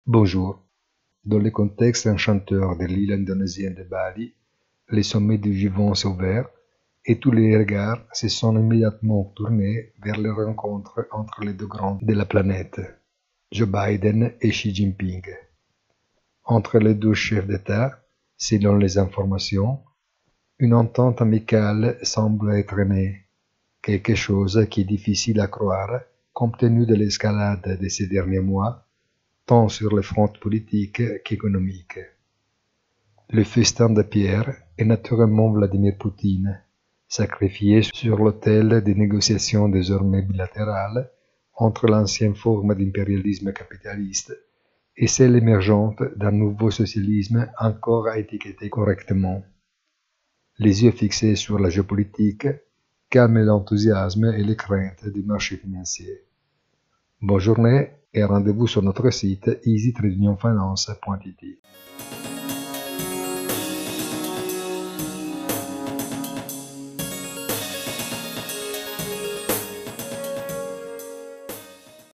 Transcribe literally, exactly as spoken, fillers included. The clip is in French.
Bonjour. Dans le contexte enchanteur de l'île indonésienne de Bali, les sommets du vivant s'ouvrent et tous les regards se sont immédiatement tournés vers les rencontres entre les deux grands de la planète, Joe Biden et Xi Jinping. Entre les deux chefs d'État, selon les informations, une entente amicale semble être née, quelque chose qui est difficile à croire compte tenu de l'escalade de ces derniers mois, tant sur le front politique qu'économique. Le festin de pierre est naturellement Vladimir Poutine, sacrifié sur l'autel des négociations désormais bilatérales entre l'ancienne forme d'impérialisme capitaliste et celle émergente d'un nouveau socialisme encore à étiqueter correctement. Les yeux fixés sur la géopolitique calment l'enthousiasme et les craintes du marché financier. Bonne journée et rendez-vous sur notre site easy trading finance point i t.